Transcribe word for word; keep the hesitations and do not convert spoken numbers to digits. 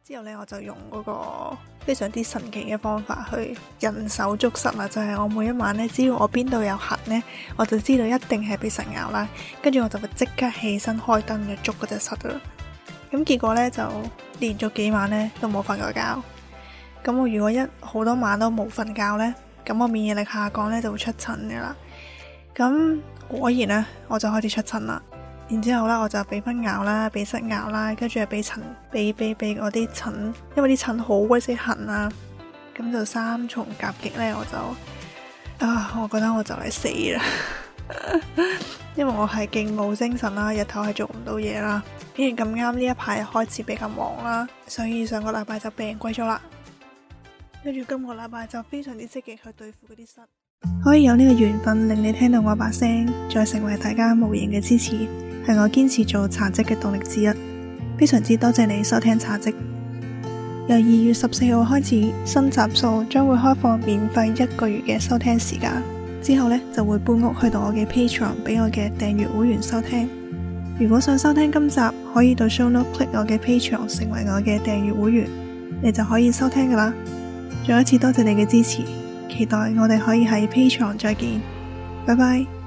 之後呢，我就用嗰個非常之神奇嘅方法去人手捉虱啦，就係我每一晚呢，只要我邊度有痕呢，我就知道一定係俾虱咬啦，跟住我就會即刻起身開燈就捉嗰隻虱啦。咁結果呢，就連續幾晚呢都冇瞓過覺。咁我如果一好多晚都冇瞓覺呢，咁我免疫力下降呢就會出疹噶啦。咁果然呢，我就開始出疹啦。然之後咧，我就俾蚊咬啦，俾虱咬啦，跟住又俾塵，俾俾俾嗰啲疹，因為啲疹好鬼死痕啊，咁就三重夾擊呢，我就啊，我覺得我就嚟死啦，因為我係勁冇精神啦，日頭係做唔到嘢啦，竟然咁啱呢一排開始比較忙啦，所以上個禮拜就病鬼咗啦，跟住今個禮拜就非常之積極去對付嗰啲虱，可以有呢個緣分令你聽到我把聲，再成為大家無形嘅支持，係我堅持做茶嘖嘅動力之一，非常之多謝你收聽茶嘖。由二月十四號開始，新集數將會開放免費一個月嘅收聽時間，之後呢就會搬屋去到我嘅 Patreon 俾我嘅訂閱會員收聽。如果想收聽今集，可以到 show note click 我嘅 Patreon 成為我嘅訂閱會員，你就可以收聽噶啦。再一次多謝你嘅支持，期待我哋可以喺 Patreon 再見，拜拜。